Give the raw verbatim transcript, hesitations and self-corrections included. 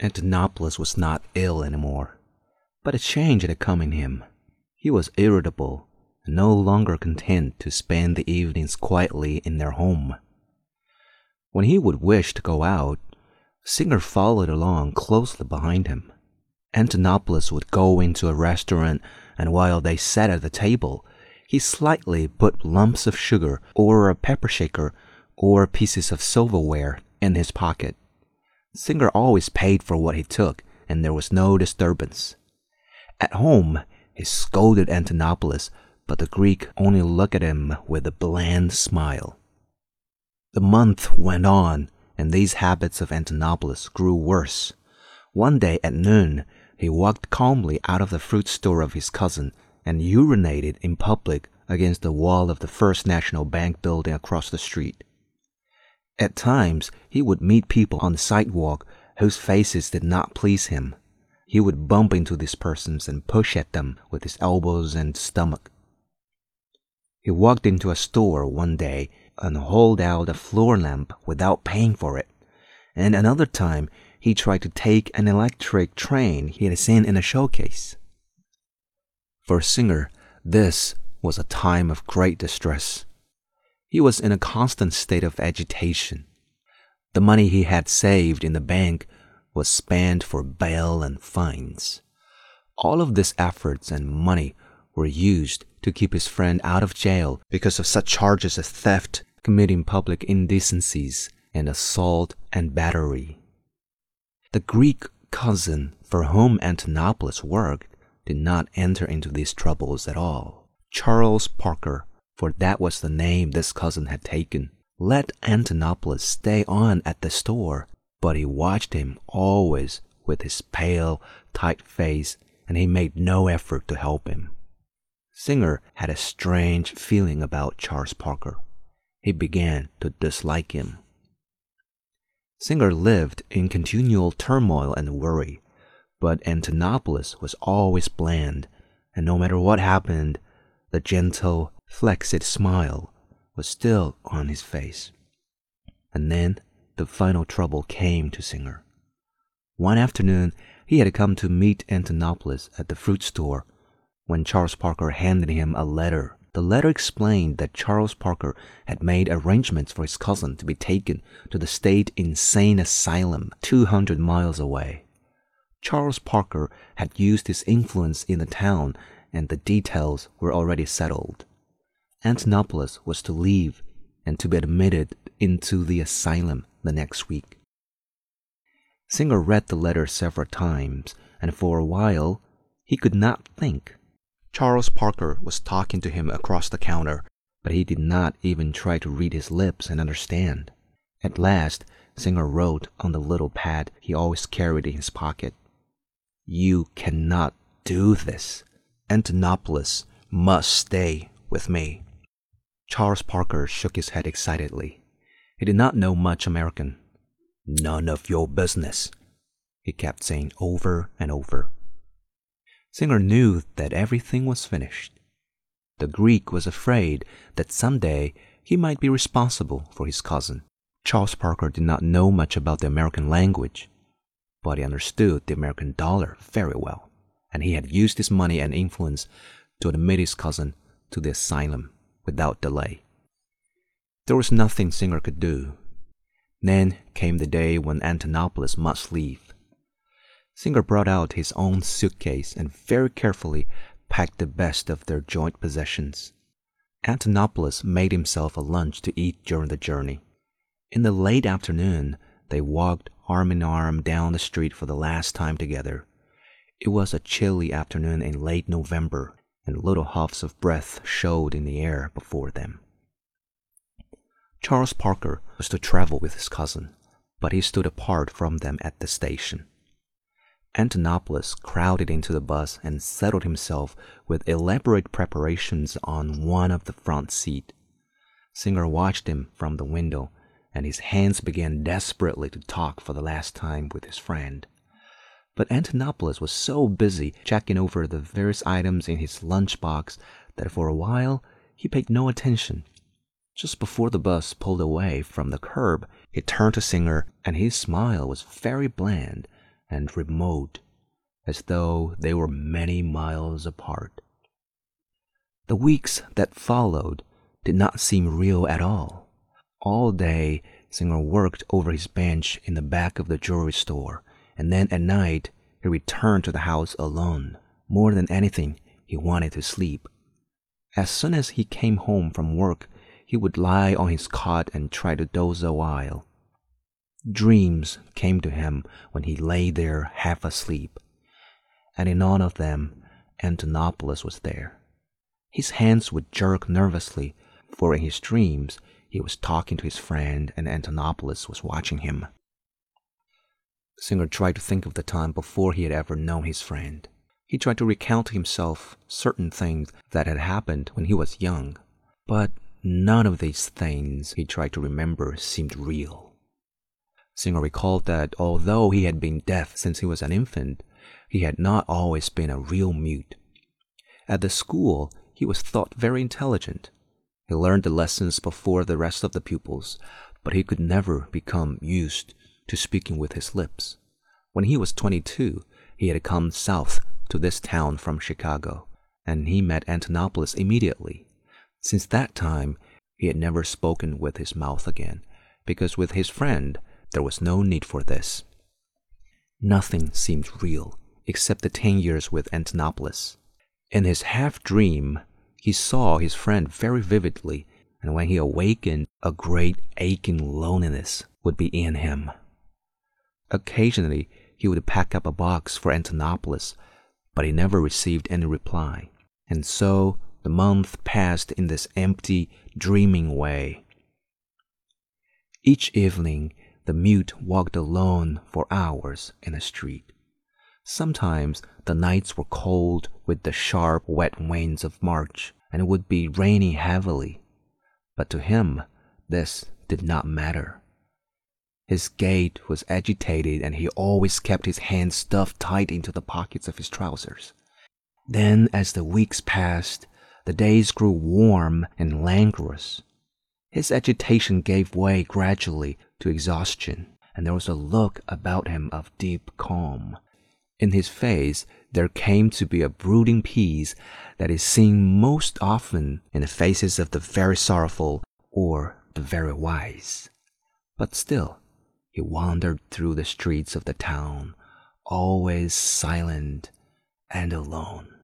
Antonopoulos was not ill anymore, but a change had come in him. He was irritable and no longer content to spend the evenings quietly in their home. When he would wish to go out, Singer followed along closely behind him. Antonopoulos would go into a restaurant, and while they sat at the table, he slightly put lumps of sugar or a pepper shaker or pieces of silverware in his pocket. Singer always paid for what he took, and there was no disturbance. At home, he scolded Antonopoulos, but the Greek only looked at him with a bland smile. The month went on, and these habits of Antonopoulos grew worse. One day at noon, he walked calmly out of the fruit store of his cousin and urinated in public against the wall of the First National Bank building across the street. At times, he would meet people on the sidewalk whose faces did not please him. He would bump into these persons and push at them with his elbows and stomach. He walked into a store one day and hauled out a floor lamp without paying for it, and another time he tried to take an electric train he had seen in a showcase. For Singer, this was a time of great distress. He was in a constant state of agitation. The money he had saved in the bank was spent for bail and fines. All of these efforts and money were used to keep his friend out of jail because of such charges as theft, committing public indecencies, and assault and battery. The Greek cousin for whom Antonopoulos worked did not enter into these troubles at all. Charles Parker, for that was the name this cousin had taken, let Antonopoulos stay on at the store, but he watched him always with his pale, tight face, and he made no effort to help him. Singer had a strange feeling about Charles Parker. He began to dislike him. Singer lived in continual turmoil and worry, but Antonopoulos was always bland, and no matter what happened, the gentle, flexed smile was still on his face. And then the final trouble came to Singer. One afternoon, he had come to meet Antonopoulos at the fruit store when Charles Parker handed him a letter. The letter explained that Charles Parker had made arrangements for his cousin to be taken to the state insane asylum two hundred miles away. Charles Parker had used his influence in the town, and the details were already settled. Antonopoulos was to leave and to be admitted into the asylum the next week. Singer read the letter several times, and for a while he could not think. Charles Parker was talking to him across the counter, but he did not even try to read his lips and understand. At last, Singer wrote on the little pad he always carried in his pocket, "You cannot do this. Antonopoulos must stay with me." Charles Parker shook his head excitedly. He did not know much American. "None of your business," he kept saying over and over. Singer knew that everything was finished. The Greek was afraid that someday he might be responsible for his cousin. Charles Parker did not know much about the American language, but he understood the American dollar very well, and he had used his money and influence to admit his cousin to the asylum without delay. There was nothing Singer could do. Then came the day when Antonopoulos must leave. Singer brought out his own suitcase and very carefully packed the best of their joint possessions. Antonopoulos made himself a lunch to eat during the journey. In the late afternoon, they walked arm in arm down the street for the last time together. It was a chilly afternoon in late November, and little huffs of breath showed in the air before them. Charles Parker was to travel with his cousin, but he stood apart from them at the station. Antonopoulos crowded into the bus and settled himself with elaborate preparations on one of the front seat. Singer watched him from the window, and his hands began desperately to talk for the last time with his friend. But Antonopoulos was so busy checking over the various items in his lunchbox that for a while he paid no attention. Just before the bus pulled away from the curb, he turned to Singer, and his smile was very bland, and remote, as though they were many miles apart. The weeks that followed did not seem real at all. All day, Singer worked over his bench in the back of the jewelry store, and then at night, he returned to the house alone. More than anything, he wanted to sleep. As soon as he came home from work, he would lie on his cot and try to doze a while. Dreams came to him when he lay there half asleep, and in none of them, Antonopoulos was there. His hands would jerk nervously, for in his dreams, he was talking to his friend and Antonopoulos was watching him. Singer tried to think of the time before he had ever known his friend. He tried to recount to himself certain things that had happened when he was young, but none of these things he tried to remember seemed real. Singer recalled that although he had been deaf since he was an infant, he had not always been a real mute. At the school, he was thought very intelligent. He learned the lessons before the rest of the pupils, but he could never become used to speaking with his lips. When he was twenty-two, he had come south to this town from Chicago, and he met Antonopoulos immediately. Since that time, he had never spoken with his mouth again, because with his friend, there was no need for this. Nothing seemed real except the ten years with Antonopoulos. In his half-dream, he saw his friend very vividly, and when he awakened, a great aching loneliness would be in him. Occasionally, he would pack up a box for Antonopoulos, but he never received any reply, and so the month passed in this empty, dreaming way. Each evening, the mute walked alone for hours in the street. Sometimes the nights were cold with the sharp, wet winds of March, and it would be raining heavily. But to him, this did not matter. His gait was agitated, and he always kept his hands stuffed tight into the pockets of his trousers. Then, as the weeks passed, the days grew warm and languorous. His agitation gave way gradually to exhaustion, and there was a look about him of deep calm. In his face, there came to be a brooding peace that is seen most often in the faces of the very sorrowful or the very wise. But still, he wandered through the streets of the town, always silent and alone.